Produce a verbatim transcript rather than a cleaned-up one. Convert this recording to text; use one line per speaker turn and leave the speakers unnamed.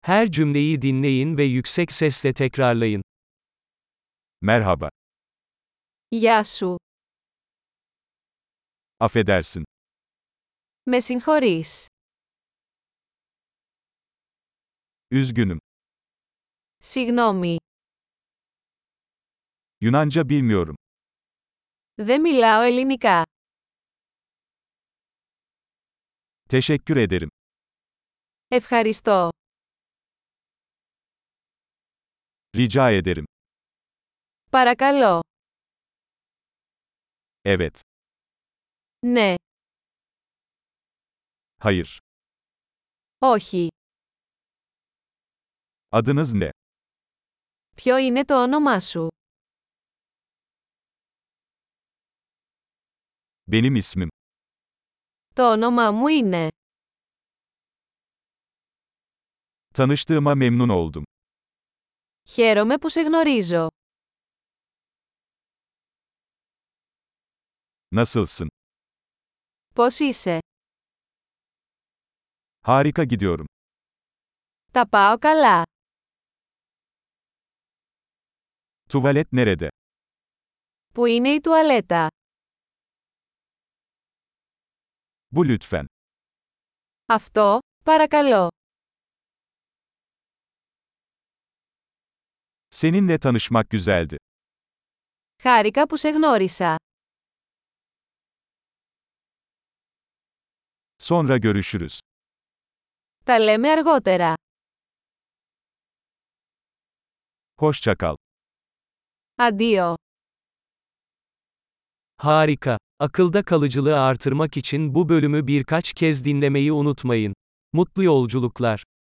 Her cümleyi dinleyin ve yüksek sesle tekrarlayın.
Merhaba.
Γεια σου.
Affedersin.
Με συγχωρείς.
Üzgünüm.
Συγγνώμη.
Yunanca bilmiyorum.
Δεν μιλάω ελληνικά.
Teşekkür ederim.
Ευχαριστώ.
Rica ederim.
Παρακαλώ.
Evet.
Ναι.
Hayır.
Όχι.
Adınız ne?
Ποιο είναι το όνομά σου?
Benim ismim.
Το όνομά μου είναι.
Tanıştığıma memnun oldum.
Χαίρομαι που σε γνωρίζω.
Nasılsın?
Πώς είσαι?
Harika gidiyorum.
Τα πάω καλά.
Tuvalet nerede?
Πού είναι η τουαλέτα?
Bu lütfen.
Αυτό, παρακαλώ.
Seninle tanışmak güzeldi.
Χάρηκα που σε γνώρισα.
Sonra görüşürüz.
Τα λέμε αργότερα.
Hoşça kal.
Αντίο.
Harika. Akılda kalıcılığı artırmak için bu bölümü birkaç kez dinlemeyi unutmayın. Mutlu yolculuklar.